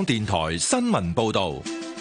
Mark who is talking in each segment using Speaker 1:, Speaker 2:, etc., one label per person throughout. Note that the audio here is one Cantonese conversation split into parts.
Speaker 1: 電台新聞報道。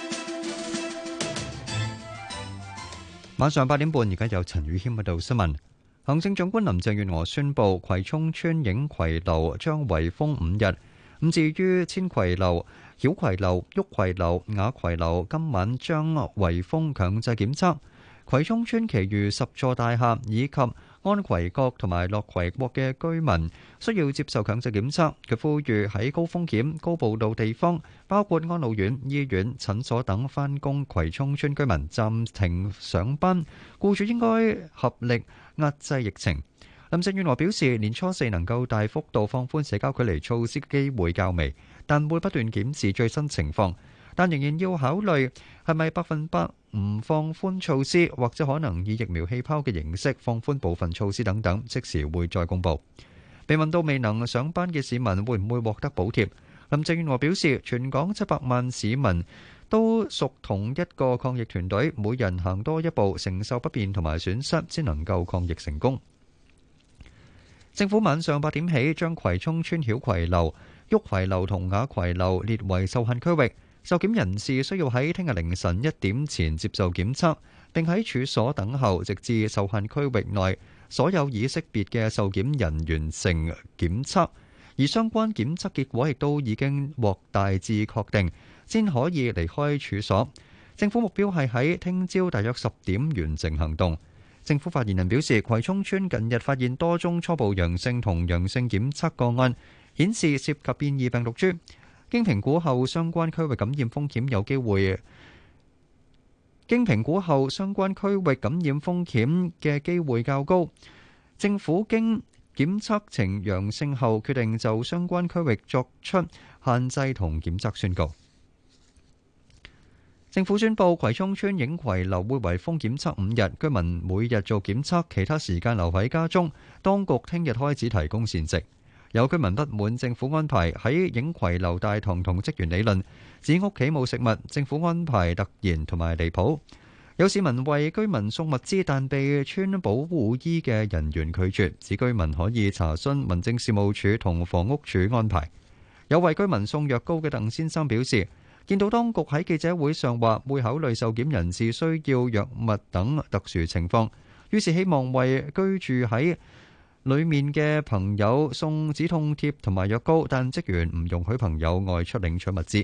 Speaker 2: 晚上8點半，而家有陳宇謙報道新聞。行政長官林鄭月娥宣布，葵涌村影葵樓將圍封5日。咁至於千葵樓、曉葵樓、旭葵樓、雅葵樓，今晚將圍封強制檢測。葵涌村其餘10座大廈以及安葵閣同埋樂葵國嘅居民需要接受強制檢測。佢呼籲喺高風險、高暴露地方，包括安老院、醫院、診所等返工葵涌村居民暫停上班，僱主應該合力壓制疫情。林鄭月娥表示，年初4能夠大幅度放寬社交距離措施嘅機會較微，但會不斷檢視最新情況，但仍然要考慮係咪100%唔放寬措施，或者可能以疫苗氣泡嘅形式放寬部分措施等等，即時會再公佈。被問到未能上班嘅市民會唔會獲得補貼，林鄭月娥表示，全港700萬市民都屬同一個抗疫團隊，每人行多一步，承受不便同埋損失，先能夠抗疫成功。政府晚上8點起將葵涌村曉葵樓、旭葵樓同雅葵樓列為受限區域，受檢人士需要喺聽日凌晨1點前接受檢測，並喺處所等候，直至受限區域內所有已識別嘅受檢人完成檢測，而相關檢測結果亦都已經獲大致確定，先可以離開處所。政府目標係喺聽朝大約10點完成行動。政府發言人表示，葵涌村近日發現多宗初步陽性同陽性檢測個案，顯示涉及變異病毒株。經評估後，相關區域感染風險有機會。經評估後，相關區域感染風險嘅機會較高。政府經檢測呈陽性後，決定就相關區域作出限制同檢測宣告。政府宣布，葵涌村影葵樓會圍封檢測5日，居民每日做檢測，其他時間留喺家中。當局聽日開始提供膳食。有居民不滿政府安排，喺影葵樓大堂同職員理論，指屋企冇食物，政府安排突然同埋離譜。有市民為居民送物資，但被穿保護衣嘅人員拒絕，指居民可以查詢民政事務處同房屋署安排。有為居民送藥膏嘅鄧先生表示，見到當局喺記者會上話會考慮受檢人士需要藥物等特殊情況，於是希望為居住喺裏面嘅朋友送止痛貼同埋藥膏，但職員唔容許朋友外出領取物資。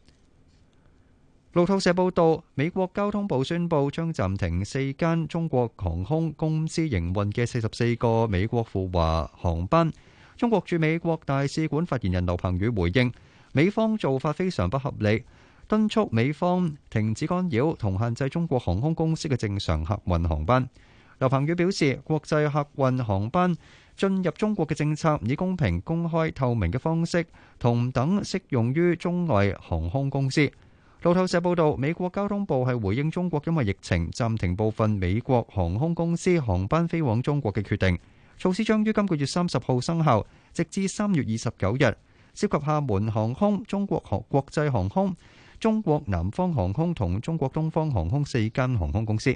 Speaker 2: 路透社報道，美國交通部宣布將暫停4間中國航空公司營運嘅44個美國赴華航班。中國駐美國大使館發言人劉鵬宇回應，美方做法非常不合理，敦促美方停止干擾同限制中國航空公司嘅正常客運航班。劉鵬宇表示，國際客運航班進入中國嘅政策以公平、公開、透明嘅方式同等適用於中外航空公司。路透社報道，美國交通部係回應中國因為疫情暫停部分美國航空公司航班飛往中國嘅決定，措施將於今個月30號生效，直至3月29日，涉及廈門航空、中國國際航空、中國南方航空同中國東方航空4間航空公司。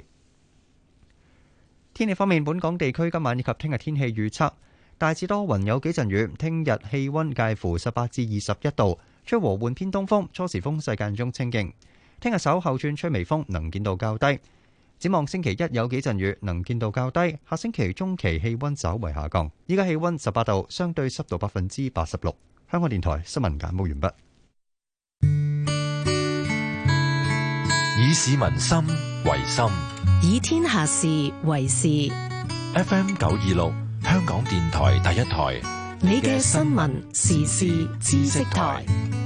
Speaker 2: 天氣方面，本港地區今晚以及聽日天氣預測大致多雲，有幾陣雨。聽日氣溫介乎18至21度，吹和緩偏東風，初時風勢間中清勁。聽日稍後轉吹微風，能見度較低。展望星期一有幾陣雨，能見度較低。下星期中期氣溫稍為下降。依家氣溫18度，相對濕度86%。香港電台新聞簡報完畢。
Speaker 1: 以市民心為心，
Speaker 3: 以天下事為事。
Speaker 1: FM 926，香港電台第一台，
Speaker 3: 你嘅新聞時事知識台。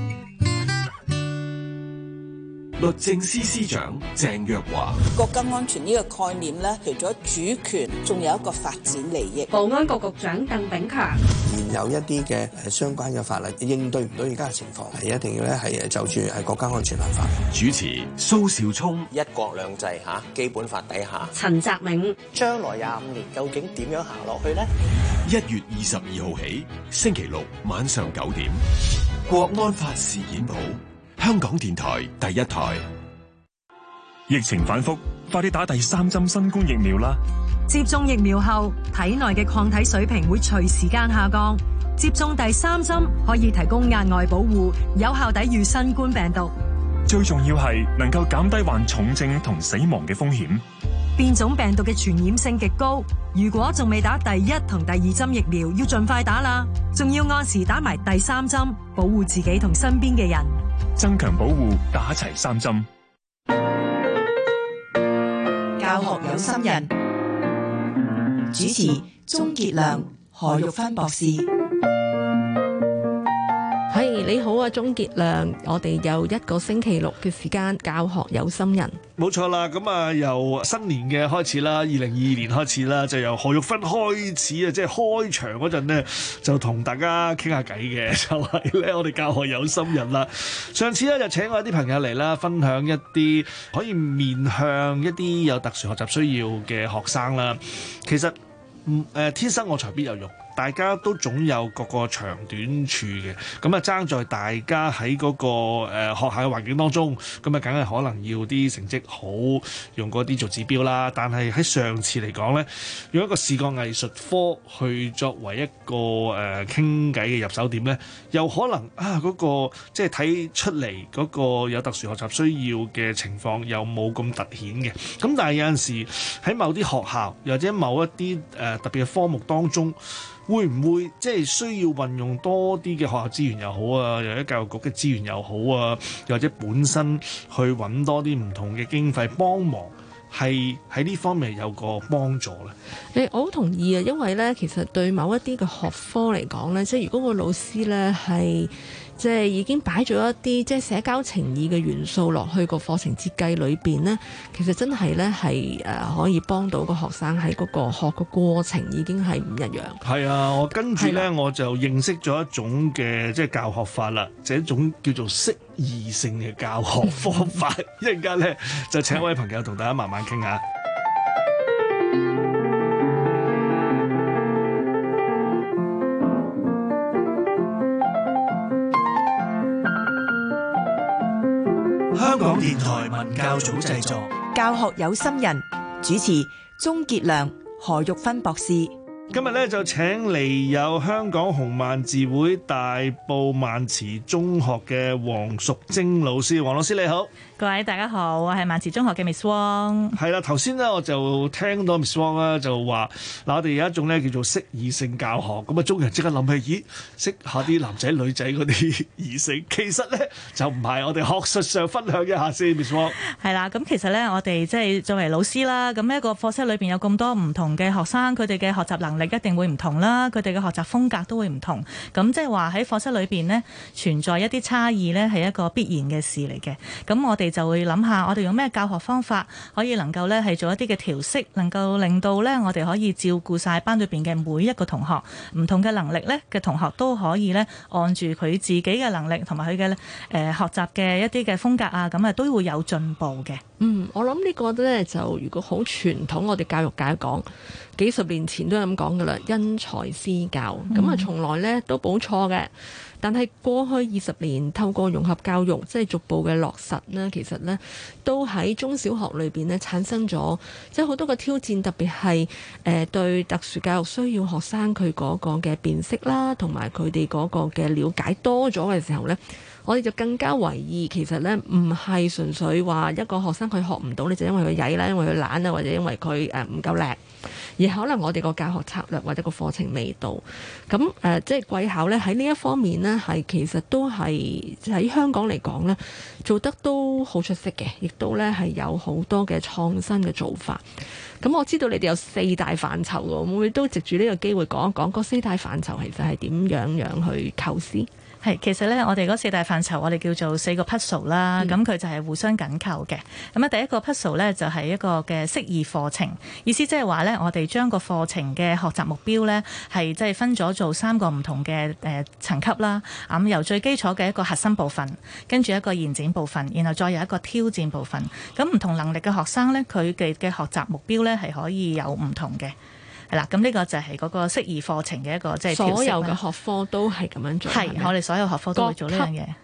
Speaker 1: 律政司司長鄭若驊，
Speaker 4: 國家安全呢個概念咧，除咗主權，仲有一個發展利益。
Speaker 5: 保安局局長鄧炳強，
Speaker 6: 現有一啲嘅相關嘅法例應對唔到而家嘅情況，係一定要咧係就住係國家安全立法。
Speaker 1: 主持蘇兆聰，
Speaker 7: 一國兩制下基本法底下，
Speaker 5: 陳澤銘，
Speaker 7: 將來25年究竟點樣行落去呢
Speaker 1: ？1月22號起，星期六晚上9點，國安法事件簿。香港電台第一台。
Speaker 8: 疫情反覆，快啲打第3針新冠疫苗啦！
Speaker 9: 接種疫苗後，體內嘅抗體水平會隨時間下降， 接種第3針可以提供額外保護，有效抵禦新冠病毒。
Speaker 8: 最重要係能夠減低患重症同死亡嘅風險。
Speaker 9: 變種病毒嘅傳染性極高，如果仲未打第1同第2針疫苗，要盡快打啦。仲要按時打埋第3針，保護自己同身邊嘅人。
Speaker 8: 增強保護，打齊3針。
Speaker 10: 教學有心人，主持鍾傑良、何玉芬博士。
Speaker 11: 你好啊，鍾傑良，我哋有1個星期六嘅時間，教學有心人。
Speaker 12: 冇錯啦，咁啊由新年嘅開始啦，2022年開始啦，就由何玉芬開始啊，即係開場嗰陣呢，就同大家傾下偈嘅，就係咧我哋教學有心人啦。上次咧就請我一啲朋友嚟啦，分享一啲可以面向一啲有特殊學習需要嘅學生啦。其實天生我材必有用。大家都總有各個長短處嘅，咁啊爭在大家喺嗰個學校嘅環境當中，咁啊梗係可能要啲成績好，用嗰啲做指標啦。但係喺上次嚟講呢，用一個視覺藝術科去作為一個傾偈嘅入手點呢，又可能嗰個即係睇出嚟嗰個有特殊學習需要嘅情況又冇咁突顯嘅。咁但係有陣時喺某啲學校，又或者某一啲特別嘅科目當中，會唔會即係需要運用多啲嘅學校資源又好啊，又或者教育局嘅資源又好啊，又或者本身去揾多啲唔同嘅經費幫忙，係喺呢方面有個幫助咧？
Speaker 11: 我好同意啊，因為咧其實對某一啲嘅學科嚟講咧，即係如果個老師咧係即係已經擺咗一啲即係社交情意嘅元素落去個課程設計裏邊呢，其實真係咧係可以幫到個學生喺嗰個學嘅過程已經係唔一樣。係啊，我跟住咧我就認識咗一種嘅即係教學法啦，就係一種叫做適宜性嘅教學方法。一陣間咧就請一位朋友同大家慢慢傾下。
Speaker 10: 香港電台文教組製作，教學有心人，主持鍾傑良、何玉芬博士。
Speaker 12: 今日咧就請嚟有香港紅萬字會大埔萬慈中學嘅黃淑貞老師。黃老師你好。
Speaker 13: 各位大家好，我係萬慈中學嘅 Miss Wong。
Speaker 12: 係啦，頭先咧我就聽到 Miss Wong 咧就話嗱，我哋有一種咧叫做適宜性教學，咁啊中國人即刻諗起，咦，識下啲男仔女仔嗰啲異性，其實咧就唔係。我哋學術上分享一下先 ，Miss Wong。
Speaker 13: 係啦，咁其實咧我哋即係作為老師啦，咁一個課室裏邊有咁多唔同嘅學生，佢哋嘅學習能力一定會唔同啦，佢哋嘅學習風格都會唔同。咁即係話喺課室裏邊呢，存在一啲差異呢，係一個必然嘅事嚟嘅。咁我哋就會諗下，我哋用咩教學方法可以能夠呢係做一啲嘅調適，能夠令到呢我哋可以照顧晒班裏邊嘅每一個同學，唔同嘅能力呢嘅同學都可以呢按住佢自己嘅能力同埋佢嘅學習嘅一啲嘅風格啊，咁啊都會有進步嘅。
Speaker 11: 我諗呢個呢，就如果好傳統，我哋教育界講幾十年前都係咁講噶啦，因材施教，咁啊從來呢都冇錯嘅。但係過去20年透過融合教育，即係逐步嘅落實呢，其實呢都喺中小學裏邊呢產生咗即係好多個挑戰，特別係對特殊教育需要學生佢嗰個嘅辨識啦，同埋佢哋嗰個嘅了解多咗嘅時候呢，我哋就更加為意，其實呢唔係純粹話一個學生佢學唔到，你就因為佢曳啦，因為佢懶啊，或者因為佢唔夠叻，而可能我哋個教學策略或者個課程未到。咁即係貴校呢喺呢一方面呢，係其實都係喺香港嚟講呢，做得都好出色嘅，亦都呢係有好多嘅創新嘅做法。咁我知道你哋有4大範疇喎，會唔會都藉住呢個機會講一講嗰4大範疇其實係點樣去構思？
Speaker 13: 係，其實咧，我哋嗰4大範疇，我哋叫做4個 puzzle 啦，咁佢就係互相緊扣嘅。咁啊，第一個 puzzle 咧就係一個嘅適宜課程，意思即係話咧，我哋將個課程嘅學習目標咧係即係分咗做3個唔同嘅層級啦。咁由最基礎嘅一個核心部分，跟住一個延展部分，然後再有一個挑戰部分。咁唔同能力嘅學生咧，佢哋嘅學習目標咧係可以有唔同嘅。係啦，咁呢個就係嗰個適宜課程嘅一個即係所
Speaker 11: 有嘅學科都係咁樣做。
Speaker 13: 係，我哋所有學科都會做呢樣嘢。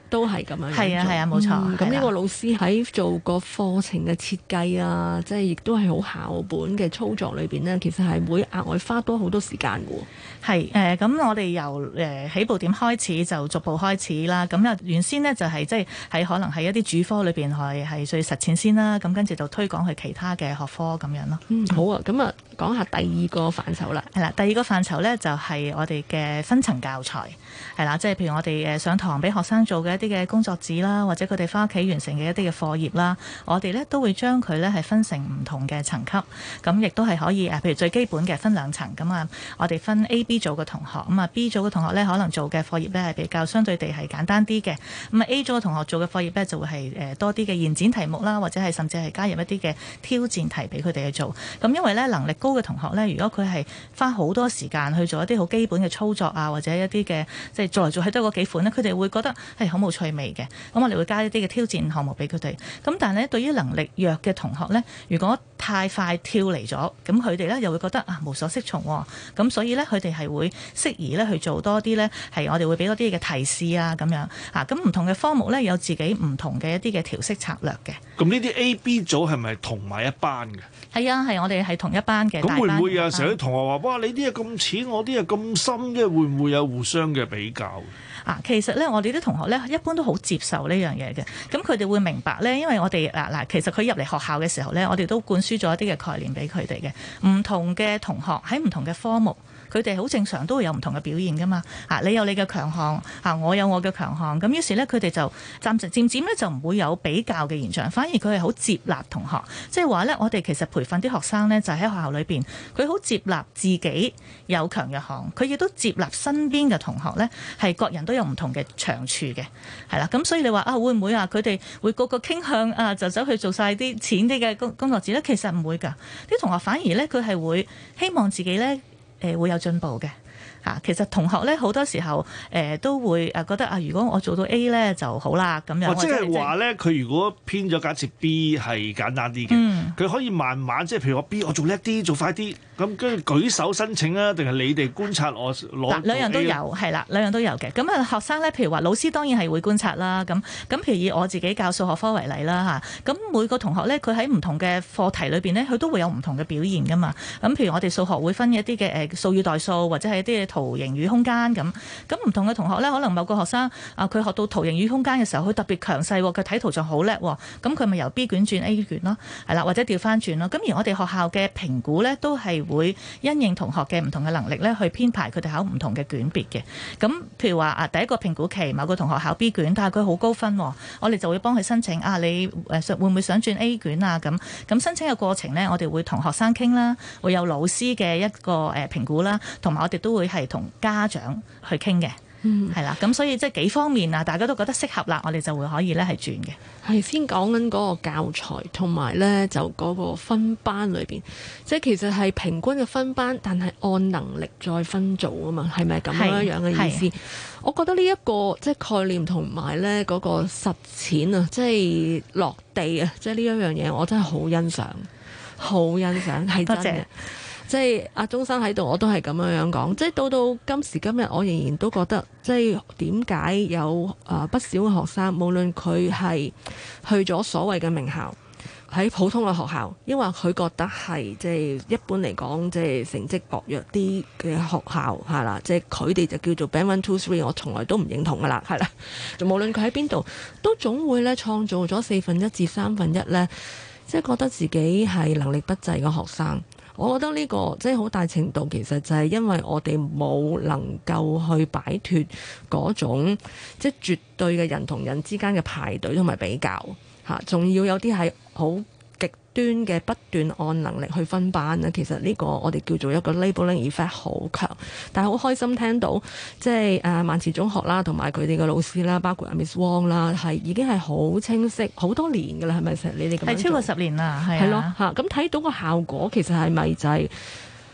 Speaker 11: 都係咁樣。
Speaker 13: 係啊，冇錯。
Speaker 11: 咁呢個老師喺做個課程嘅設計啊，即係亦都係好校本嘅操作裏邊呢，其實係會額外花多好多時間嘅喎。
Speaker 13: 係咁我哋由起步點開始就逐步開始啦。咁啊原先呢，就係即係喺可能喺一啲主科裏邊係最實踐先啦。咁跟住就推廣去其他嘅學科咁樣咯。
Speaker 11: 好啊。咁啊講下第二個範疇啦。
Speaker 13: 係啦，第二個範疇呢，就係我哋嘅分層教材。係啦，即係譬如我哋上堂俾學生做嘅一啲嘅工作紙啦，或者佢哋翻屋企完成嘅一啲嘅課業啦，我哋呢都會將佢呢係分成唔同嘅層級。咁亦都係可以譬如最基本嘅分兩層。咁啊，我哋分 A、B 組嘅同學。咁啊 B 組嘅同學呢，可能做嘅課業呢係比較相對地係簡單啲嘅。咁啊 A 組嘅同學做嘅課業呢，就會係多啲嘅延展題目啦，或者係甚至係加入一啲嘅挑戰題俾佢哋去做。咁因為呢能力高嘅同學呢，如果佢係花好多時間去做一啲好基本嘅操作啊，或者一啲嘅即係做嚟做去都嗰幾款呢，佢哋會覺得係好冇趣味嘅。咁我哋會加一啲嘅挑戰項目俾佢哋。咁但係呢，對於能力弱嘅同學呢，如果太快跳離咗，咁佢哋呢又會覺得無所適從。咁所以呢，佢哋係會適宜呢去做多啲呢，係我哋會俾多啲嘅提示啊咁樣啊。咁唔同嘅科目呢，有自己唔同嘅一啲嘅調適策略嘅。
Speaker 12: 咁呢啲 A、B 組係咪同埋一班嘅？
Speaker 13: 係啊，係我哋係同一班嘅。
Speaker 12: 咁會唔會有時候啲同學話：哇，你啲嘢咁淺，我啲嘢咁深嘅，會唔會有互相嘅比較？
Speaker 13: 其實咧，我哋啲同學咧一般都好接受呢樣嘢嘅。咁佢哋會明白咧，因為我哋其實佢入嚟學校嘅時候咧，我哋都灌輸咗一啲嘅概念俾佢哋嘅。唔同嘅同學喺唔同嘅科目，佢哋好正常都會有唔同嘅表現噶嘛。你有你嘅強項，我有我嘅強項。咁於是咧，佢哋就漸漸咧就唔會有比較嘅現象，反而佢係好接納同學。即係話咧，我哋其實培訓啲學生咧，就喺學校裏邊，佢好接納自己有強弱項，佢亦都接納身邊嘅同學咧，係各人都有唔同嘅長處嘅，係啦。咁所以你話會唔會佢哋會個個傾向就走去做晒啲淺啲嘅工作紙咧？其實唔會㗎，啲同學反而咧佢係會希望自己咧會有進步嘅。其實同學咧好多時候都會覺得如果我做到 A 咧就好啦咁樣。
Speaker 12: 即係話咧，佢如果偏咗假設 B 係簡單啲嘅，佢可以慢慢即係譬如我 B 我做叻啲做快啲，咁跟住舉手申請啊，定係你哋觀察我攞？
Speaker 13: 兩樣都有，係啦，兩樣都有嘅。咁學生咧，譬如話老師當然係會觀察啦。咁譬如以我自己教數學科為例啦嚇，咁每個同學咧佢喺唔同嘅課題裏邊咧，佢都會有唔同嘅表現噶嘛。咁譬如我哋數學會分一啲嘅數與代數，或者係一啲嘅圖形與空間咁唔同嘅同學咧，可能某個學生佢學到圖形與空間嘅時候，佢特別強勢，佢睇圖像好叻，咁佢咪由 B 卷轉 A 卷咯，係啦，或者調翻轉咯。咁而我哋學校嘅評估咧，都係會因應同學嘅唔同嘅能力咧，去編排佢哋考唔同嘅卷別嘅。咁譬如話第一個評估期，某個同學考 B 卷，但係佢好高分，我哋就會幫佢申請你會唔會想轉 A 卷啊？咁申請嘅過程呢，我哋會同學生傾啦，會有老師嘅一個評估啦，同埋我哋都會係同家長去傾嘅，係啦。咁所以即係幾方面大家都覺得適合啦，我哋就會可以咧係轉嘅。
Speaker 11: 係先講緊嗰個教材，同埋咧就嗰個分班裏邊，即係其實係平均嘅分班，但係按能力再分組啊嘛，係咪咁樣嘅意思？我覺得呢一個即係概念同埋咧嗰個實踐啊，即係落地啊，即係呢一樣嘢，我真係好欣賞，好欣賞，係真嘅。即係阿鐘生喺度，我都係咁樣講。即係到今時今日，我仍然都覺得，即係點解有不少嘅學生，無論佢係去咗所謂嘅名校，喺普通嘅學校，因為佢覺得係即係一般嚟講，即係成績薄弱啲嘅學校係啦，即係佢哋就叫做 Band 1 2 3，我從來都唔認同噶啦，係啦。就無論佢喺邊度，都總會咧創造咗1/4至1/3咧，即係覺得自己係能力不濟嘅學生。我覺得呢個即係好大程度其實就係因為我哋冇能夠去擺脫嗰種即係絕對嘅人同人之間嘅排隊同埋比較嚇，仲要有啲係好極端嘅不斷按能力去分班咧。其實呢個我哋叫做一個 labeling effect 好強，但係好開心聽到即係萬慈中學啦，同埋佢哋嘅老師啦，包括阿 Miss Wong 啦，係已經係好清晰好多年㗎啦，係咪成你哋咁樣做？
Speaker 13: 係超過10年啦，係
Speaker 11: 咯嚇。咁睇到個效果其實係咪就係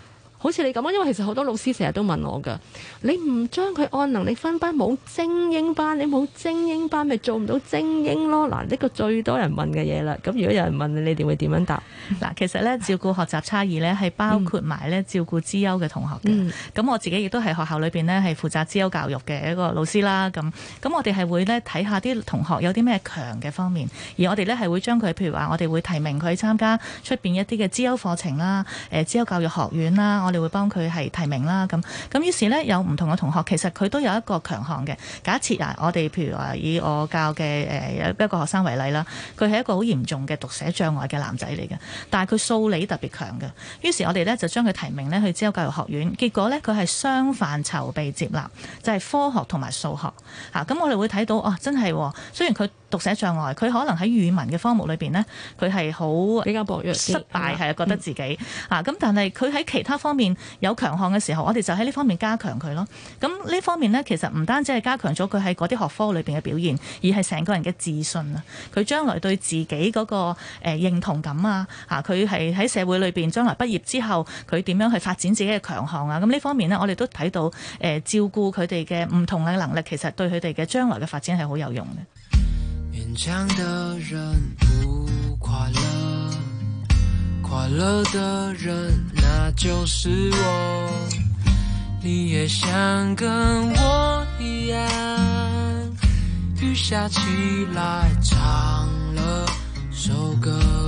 Speaker 11: 好似你咁啊，因為其實好多老師成日都問我㗎，你唔將佢按能力分班，冇精英班，你冇精英班咪做唔到精英咯。嗱，呢個最多人問嘅嘢啦。咁如果有人問你哋會點樣答？
Speaker 13: 嗱，其實咧照顧學習差異咧係包括埋咧照顧資優嘅同學嘅。咁我自己亦都係學校裏邊咧係負責資優教育嘅一個老師啦。咁我哋係會咧睇下啲同學有啲咩強嘅方面，而我哋咧係會將佢，譬如話我哋會提名佢參加出邊一啲嘅資優課程啦，資優教育學院啦，我哋會幫佢係提名啦。咁於是咧有唔同嘅同學，其實佢都有一個強項嘅。假設我哋譬如話以我教嘅一個學生為例啦，佢係一個好嚴重嘅讀寫障礙嘅男仔嚟嘅，但係佢數理特別強嘅。於是我哋咧就將佢提名咧去資優教育學院，結果咧佢係雙範疇被接納，就係科學同埋數學嚇。咁我哋會睇到真係雖然佢讀寫障礙，佢可能喺語文嘅科目裏邊呢，佢係好
Speaker 11: 比較薄弱，
Speaker 13: 失敗係覺得自己咁，但係佢喺其他方面有強項嘅時候，我哋就喺呢方面加強佢咯。咁呢方面呢，其實唔單止係加強咗佢喺嗰啲學科裏邊嘅表現，而係成個人嘅自信啊！佢將來對自己嗰個認同感啊，佢係喺社會裏邊將來畢業之後，佢點樣去發展自己嘅強項啊？咁呢方面呢，我哋都睇到照顧佢哋嘅唔同嘅能力，其實對佢哋嘅將來嘅發展係好有用嘅。
Speaker 14: 勉強的人不快樂，快樂的人那就是我，你也想跟我一樣，雨下起來唱了首歌，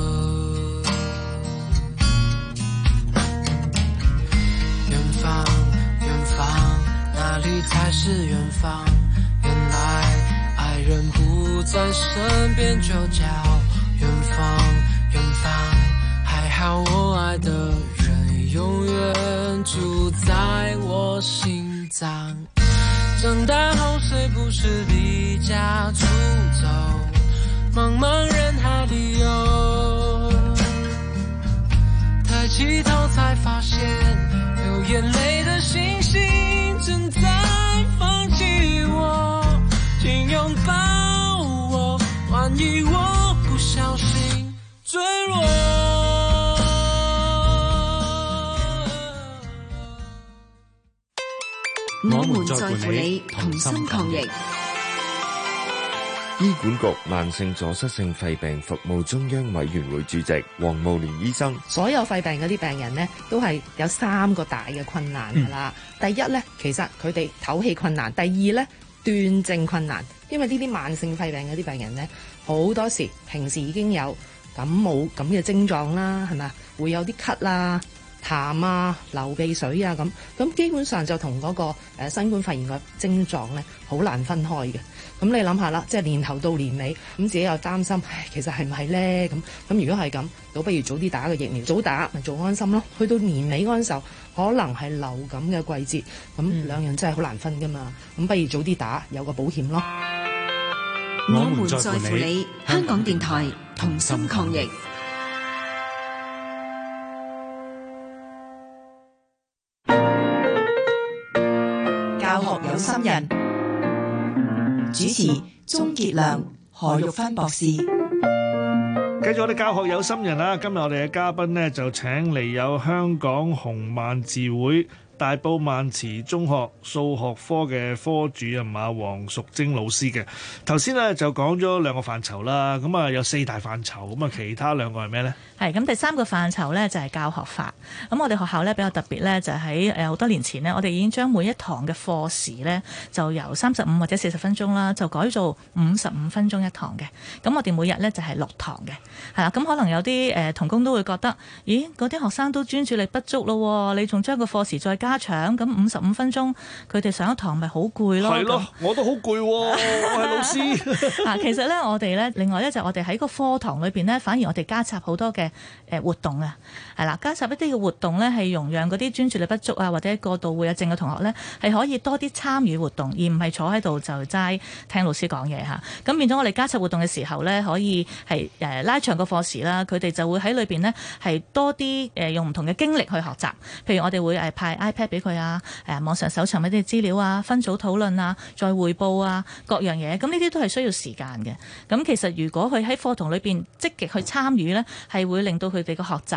Speaker 14: 遠方遠方哪裡才是遠方，原來愛人不在身邊就叫遠方，遠方還好我愛的人永遠住在我心臟，長大後誰不是離家出走，茫茫人海裡游，抬起頭才發現流眼淚的星星正在放棄我，請擁抱我，萬一我不小心墜落。
Speaker 3: 我們在乎你，同心抗疫。
Speaker 15: 醫管局慢性阻塞性肺病服務中央委員會主席黃慕蓮醫生，
Speaker 16: 所有肺病嗰啲病人呢，都係有3個大嘅困難㗎啦。第一呢，其實佢哋唞氣困難；第二呢，斷症困難。因為呢啲慢性肺病嗰啲病人呢，好多時平時已經有感冒咁嘅症狀啦，係咪？會有啲咳啦、痰啊、流鼻水啊咁基本上就同嗰個新冠肺炎嘅症狀呢，好難分開嘅。咁你諗下啦，即係年頭到年尾，咁自己又擔心，其實係唔係呢？咁如果係咁，倒不如早啲打個疫苗，早打咪做安心咯。去到年尾嗰陣時候，可能係流感嘅季節，咁兩樣真係好難分噶嘛。咁不如早啲打，有個保險咯。
Speaker 3: 我們在乎你，香港電台同心抗疫。
Speaker 10: 教學有心人，主持鍾傑良、何玉芬博士。
Speaker 12: 繼續我哋教學有心人啦，今日我哋嘅嘉賓呢，就請嚟有香港紅萬字會大埔萬慈中學數學科嘅科主任黃淑貞老師嘅。頭先咧就講咗2個範疇啦，咁啊有4大範疇，咁啊其他2個係咩呢？
Speaker 13: 係咁，第3個範疇咧就係教學法。咁我哋學校咧比較特別咧，就喺好多年前呢，我哋已經將每一堂嘅課時咧就由35或者40分鐘啦，就改做55分鐘一堂嘅。咁我哋每日咧就係6堂嘅，係啦。咁可能有啲同工都會覺得，咦，嗰啲學生都專注力不足咯，你仲將個課時再加長，咁55分鐘佢哋上一堂咪好攰咯？係咯，
Speaker 12: 我都好攰，我係老師。
Speaker 13: 其實咧，我哋咧另外咧就我哋喺個課堂裏邊咧，反而我哋加插好多嘅活動啊，係啦，加插一啲嘅活動咧，係容讓嗰啲專注力不足啊或者過度活躍症嘅同學咧，係可以多啲參與活動，而唔係坐喺度就齋聽老師講嘢嚇。咁變咗我哋加插活動嘅時候咧，可以係拉長個課時啦，佢哋就會喺裏邊咧係多啲用唔同嘅經歷去學習。譬如我哋會派 iPad 俾佢啊，網上搜尋一啲資料啊，分組討論啊，再彙報啊，各樣嘢。咁呢啲都係需要時間嘅。咁其實如果佢喺課堂裏邊積極去參與咧，係會令到佢哋嘅學習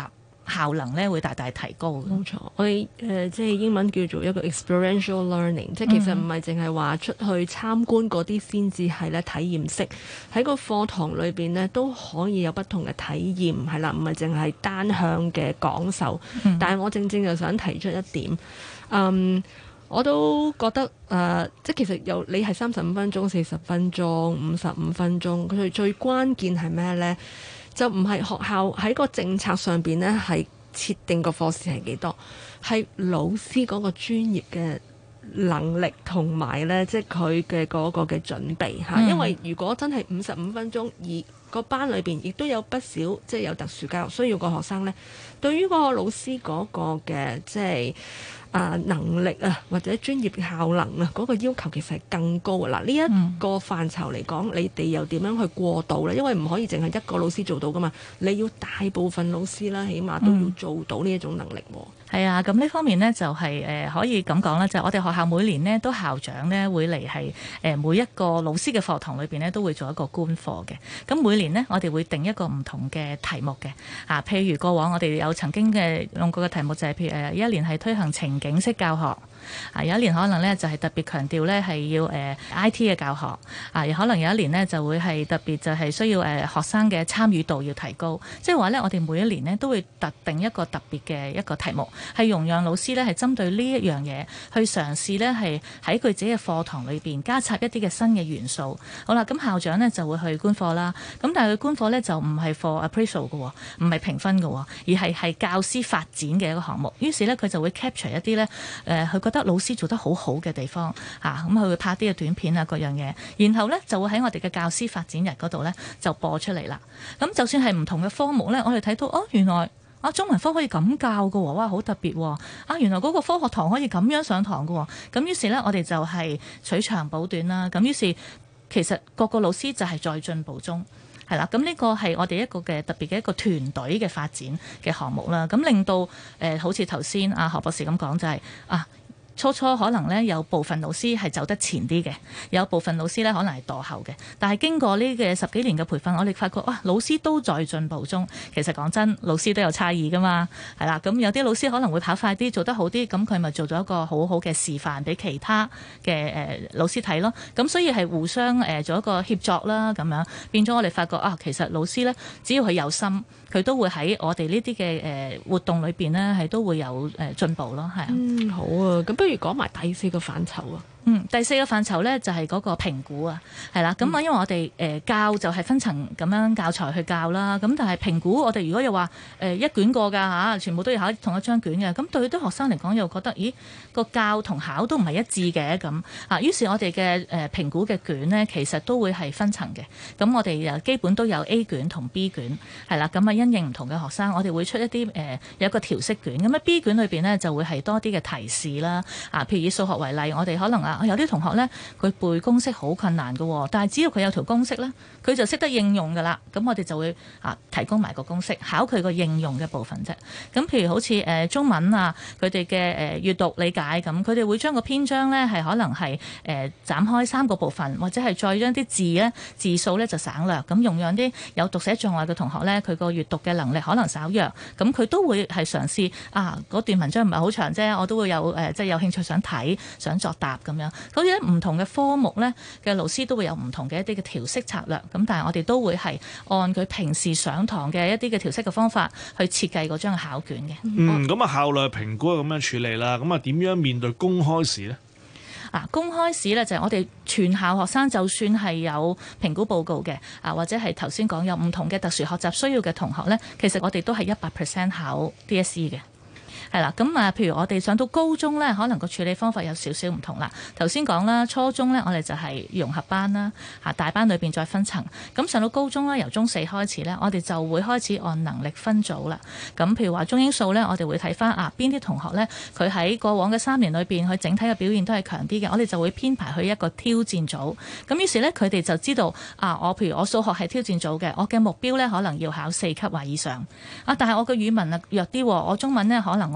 Speaker 13: 效能咧會大大提高。
Speaker 11: 冇錯，我哋即係英文叫做一個 experiential learning，即係其實唔係淨係話出去參觀嗰啲先至係咧體驗式，喺個課堂裏邊呢都可以有不同嘅體驗，係啦，唔係淨係單向嘅講授。但係我正就想提出一點，我都覺得即係其實有你係35分鐘、40分鐘、55分鐘，佢最關鍵係咩呢？就唔係學校喺個政策上邊呢係設定個課時係幾多，係老師嗰個專業嘅能力同埋呢，即係佢嘅嗰個嘅準備嚇。因為如果真係55分鐘，而個班裏邊亦都有不少即係有特殊教育需要嘅學生呢，對於嗰個老師嗰個嘅即係能力啊，或者專業效能啊，嗰個要求其實係更高嘅。嗱，呢一個範疇嚟講，你哋又點樣去過渡呢？因為唔可以淨係一個老師做到噶嘛，你要大部分老師啦，起碼都要做到呢一種能力喎。
Speaker 13: 係啊，咁呢方面呢，就係可以咁講啦，就係我哋學校每年呢都校長呢會嚟係每一個老師嘅課堂裏邊呢都會做一個觀課嘅。咁每年呢，我哋會定一個唔同嘅題目嘅。譬如過往我哋有曾經嘅用過嘅題目就係譬如一年係推行情景式教學。有一年可能咧就係特別強調咧係要IT 嘅教學，可能有一年呢就會係特別就係需要學生嘅參與度要提高，即係話咧我哋每一年呢都會特定一個特別嘅一個題目，係容讓老師咧係針對呢一樣嘢去嘗試咧係喺佢自己嘅課堂裏邊加插一啲嘅新嘅元素。好啦，咁校長呢就會去觀課啦，咁但係佢觀課咧就唔係 for appraisal 嘅，唔係評分嘅，而係教師發展嘅一個項目。於是咧佢就會 capture 一啲咧佢覺得老師做得好好嘅地方咁佢會拍啲嘅短片啊，各樣嘢，然後咧就會喺我哋嘅教師發展日嗰度咧就播出嚟啦。咁就算係唔同嘅科目咧，我哋睇到原來中文科可以咁教㗎喎，哇好特別喎！原來嗰個科學堂可以咁樣上堂㗎喎。咁於是咧我哋就係取長補短啦。咁於是其實各個老師就係在進步中。係啦，咁呢個係我哋一個嘅特別嘅一個團隊嘅發展嘅項目啦。咁令到好似頭先何博士咁講就係初可能咧有部分老師係走得前啲嘅，有部分老師咧可能係墮後嘅。但係經過呢嘅10幾年嘅培訓，我哋發覺老師都在進步中。其實講真，老師都有差異噶嘛，係啦。咁有啲老師可能會跑快啲，做得好啲，咁佢咪做咗一個好好嘅示範俾其他嘅老師睇咯。咁所以係互相做一個協作啦，咁樣變咗我哋發覺其實老師咧只要佢有心，佢都會喺我哋呢啲嘅活動裏邊呢，係都會有進步咯，係啊。
Speaker 11: 好啊，咁不如講埋第4個範疇啊。
Speaker 13: 第4個範疇呢，就係嗰個評估啊，係啦。咁因為我哋教就係分層咁樣教材去教啦。咁但係評估我哋如果又話一卷過㗎全部都要考同一張卷嘅，咁對啲學生嚟講又覺得咦個教同考都唔係一致嘅咁於是我哋嘅評估嘅卷呢，其實都會係分層嘅。咁我哋基本都有 A 卷同 B 卷係啦。咁因應唔同嘅學生，我哋會出一啲有一個調色卷。咁 B 卷裏邊呢，就會係多啲嘅提示啦。譬如以數學為例，我哋可能有啲同學呢，佢背公式好困難嘅，但係只要佢有條公式呢，佢就識得應用㗎啦。咁我哋就會提供埋個公式，考佢個應用嘅部分啫。咁譬如好似中文佢哋嘅閱讀理解咁，佢哋會將個篇章呢係可能係斬開3個部分，或者係再將啲字呢字數呢就省略，咁容讓啲有讀寫障礙嘅同學呢，佢個閱讀嘅能力可能稍弱，咁佢都會係嘗試嗰段文章唔係好長啫，我都會有即係有興趣想睇想作答咁樣。好似唔同嘅科目呢嘅老師都會有唔同嘅一啲嘅調色策略，咁但係我哋都會係按佢平時上堂嘅一啲嘅調色嘅方法去設計嗰張考卷嘅。
Speaker 12: 咁校內評估係咁樣處理啦。咁點樣面對公開試呢？
Speaker 13: 公開試呢，就係我哋全校學生就算係有評估報告嘅或者係頭先講有唔同嘅特殊學習需要嘅同學呢，其實我哋都係100% 考 DSE 嘅。係啦，咁譬如我哋上到高中咧，可能個處理方法有少少唔同啦。頭先講啦，初中咧我哋就係融合班啦，大班裏邊再分層。咁上到高中咧，由中4開始咧，我哋就會開始按能力分組啦。咁譬如話中英數咧，我哋會睇翻邊啲同學咧，佢喺過往嘅3年裏邊，佢整體嘅表現都係強啲嘅，我哋就會編排去一個挑戰組。咁於是咧，佢哋就知道我譬如我數學係挑戰組嘅，我嘅目標咧可能要考4級或以上。但係我嘅語文弱啲，我中文咧可能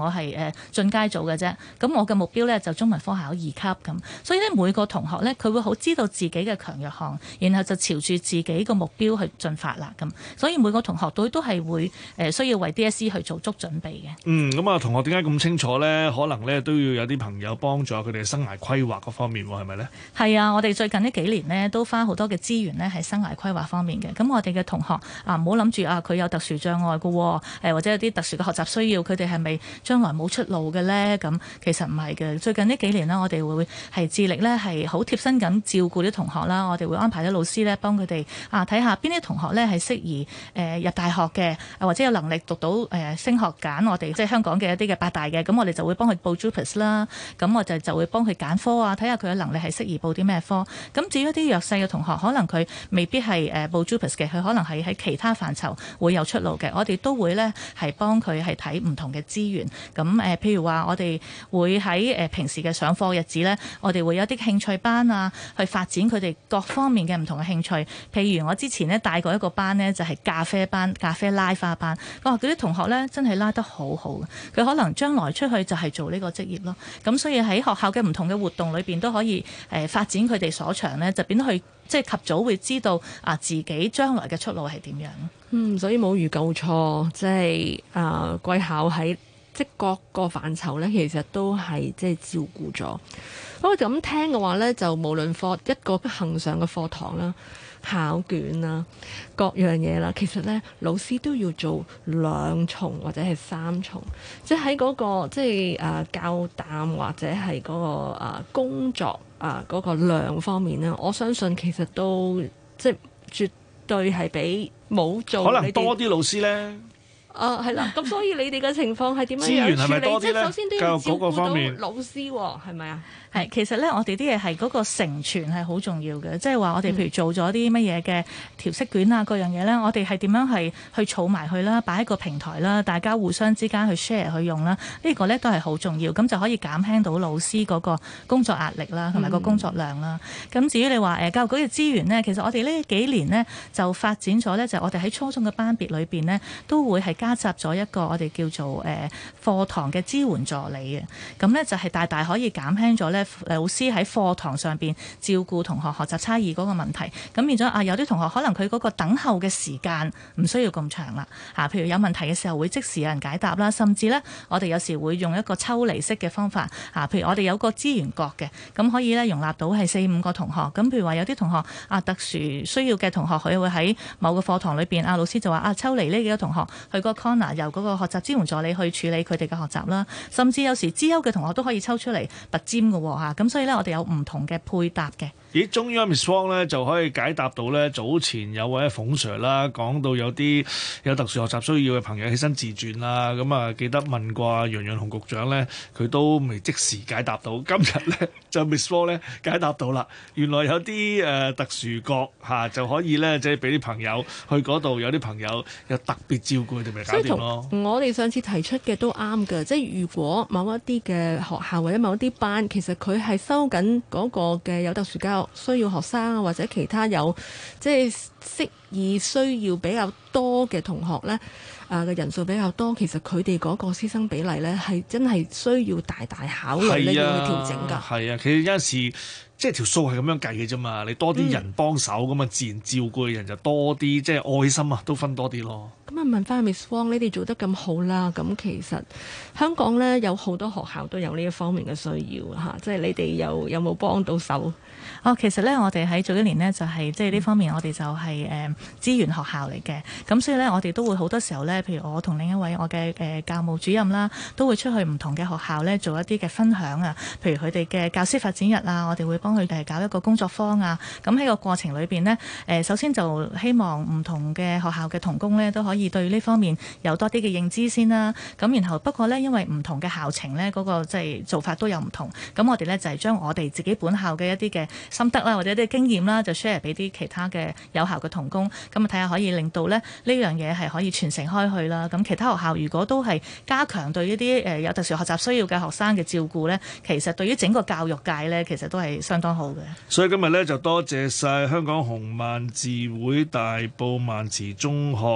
Speaker 13: 我係進階組嘅啫，咁我嘅目標咧就中文科考2級咁，所以咧每個同學咧佢會好知道自己嘅強弱項，然後就朝住自己個目標去進發啦咁，所以每個同學都係會需要為 DSE 去做足準備嘅。
Speaker 12: 咁啊，同學點解咁清楚咧？可能咧都要有啲朋友幫助佢哋生涯規劃嗰方面喎，係咪咧？係
Speaker 13: 啊，我哋最近呢幾年呢都花好多嘅資源咧喺生涯規劃方面嘅。咁我哋嘅同學啊，唔好諗住啊佢有特殊障礙嘅，或者有啲特殊嘅學習需要，佢哋係咪將來冇出路嘅咧？咁其實唔係嘅。最近呢幾年呢，我哋會係致力咧係好貼身咁照顧啲同學啦。我哋會安排啲老師咧幫佢哋睇下邊啲同學咧係適宜入大學嘅，或者有能力讀到升學揀我哋即係香港嘅一啲嘅8大嘅，咁我哋就會幫佢報 JUPAS 啦。咁我就會幫佢揀科啊，睇下佢嘅能力係適宜報啲咩科。咁至於一啲弱勢嘅同學，可能佢未必係報 JUPAS 嘅，佢可能係喺其他範疇會有出路嘅。我哋都會咧係幫佢係睇唔同嘅資源。咁譬如話我哋會喺平時嘅上課日子咧，我哋會有啲興趣班啊，去發展佢哋各方面嘅唔同嘅興趣。譬如我之前咧帶過一個班咧，就係咖啡班、咖啡拉花班。嗰啲同學咧真係拉得好好，佢可能將來出去就係做呢個職業咯。咁所以喺學校嘅唔同嘅活動裏邊都可以發展佢哋所長咧，就變得去即係及早會知道自己將來嘅出路係點樣。
Speaker 11: 所以冇預夠錯，即係貴校喺即各個範疇咧，其實都係即係照顧咗。不過咁聽嘅話咧，就無論一個恆常嘅課堂啦、考卷啦、各樣嘢啦，其實咧老師都要做2重或者係3重，即係喺嗰個即係教擔或者係嗰個工作嗰個量方面咧，我相信其實都即係絕對係比冇做。可能多啲老師咧。係啦，咁所以你哋嘅情況係點樣樣？資源係咪多啲咧？即係首先都要照顧到老師喎，係咪啊？
Speaker 13: 係，其實咧，我哋啲嘢係嗰個承傳係好重要嘅，即係話我哋譬如做咗啲乜嘢嘅調色卷啊，各樣嘢咧，我哋係點樣係去儲埋去啦，擺喺個平台啦，大家互相之間去 share 去用啦，呢個咧都係好重要，咁就可以減輕到老師嗰個工作壓力啦，同埋個工作量啦。咁至於你話教育局嘅資源咧，其實我哋呢幾年咧就發展咗咧，就我哋喺初中嘅班別裏邊咧都會係加插咗一個我哋叫做課堂嘅支援助理嘅，咁咧就係大大可以減輕咗咧老師喺課堂上邊照顧同學學習差異嗰個問題，咁變咗有啲同學可能佢嗰個等候嘅時間唔需要咁長啦，譬如有問題嘅時候會即時有人解答啦，甚至咧我哋有時會用一個抽離式嘅方法，譬如我哋有個資源角嘅，咁可以咧容納到係4-5個同學，咁譬如話有啲同學特殊需要嘅同學，佢會喺某個課堂裏邊，老師就話抽離呢幾個同學去個 corner，由嗰個學習支援助理去處理佢哋嘅學習啦，甚至有時資優嘅同學都可以抽出嚟拔尖嘅喎，咁所以咧我哋有唔同嘅配搭嘅。
Speaker 12: 咦，終於 Miss Wong 咧就可以解答到咧早前有位馮 Sir 啦，講到有啲有特殊學習需要嘅朋友起身自傳啦，咁記得問過楊潤雄局長咧，佢都未即時解答到。今日咧就 Miss Wong 咧解答到啦，原來有啲特殊角就可以咧即係俾啲朋友去嗰度，有啲朋友有特別照顧佢哋咪搞掂咯。
Speaker 11: 我哋上次提出嘅都啱嘅，即係如果某一啲嘅學校或者某一啲班，其實佢係收緊嗰個嘅有特殊教育需要學生啊，或者其他有即係適宜需要比較多嘅同學呢，嘅人數比較多，其實佢哋嗰個師生比例呢，係真係需要大大考慮呢要去調整㗎。
Speaker 12: 係啊，其實有陣時即係條數係咁樣計嘅啫嘛，你多啲人幫手咁啊，自然照顧嘅人就多啲，即係愛心都分多啲咯。
Speaker 11: 咁問翻 Miss Wong，你哋做得咁好啦，咁其實香港呢，有好多學校都有呢一方面嘅需要即係你哋有冇幫到手？
Speaker 13: 其實咧，我哋喺早幾年呢，就係即係呢方面，我哋就係資源學校嚟嘅。咁所以咧，我哋都會好多時候咧，譬如我同另一位我嘅教務主任啦，都會出去唔同嘅學校咧，做一啲嘅分享啊。譬如佢哋嘅教師發展日啊，我哋會幫佢哋搞一個工作坊啊。咁喺個過程裏邊呢，首先就希望唔同嘅學校嘅同工咧，都可以對呢方面有多啲嘅認知先啦。咁然後不過咧，因為唔同嘅校情咧，嗰個即係做法都有唔同。咁我哋咧就係將我哋自己本校嘅一啲嘅心得啦，或者啲經驗啦，就 share 俾啲其他嘅有效嘅同工，咁啊睇下可以令到咧呢樣嘢係可以傳承開去啦。咁其他學校如果都係加強對呢啲有特殊學習需要嘅學生嘅照顧咧，其實對於整個教育界咧，其實都係相當好嘅。
Speaker 12: 所以今日咧就多謝晒香港紅卍會大埔卍中學數學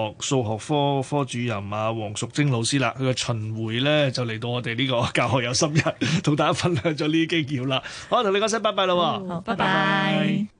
Speaker 12: 學科科主任啊黃淑貞老師啦，佢嘅巡迴咧就嚟到我哋呢個教學有心人，同大家分享咗呢啲經驗啦。好，同你講聲拜拜啦喎，
Speaker 13: 好，拜拜。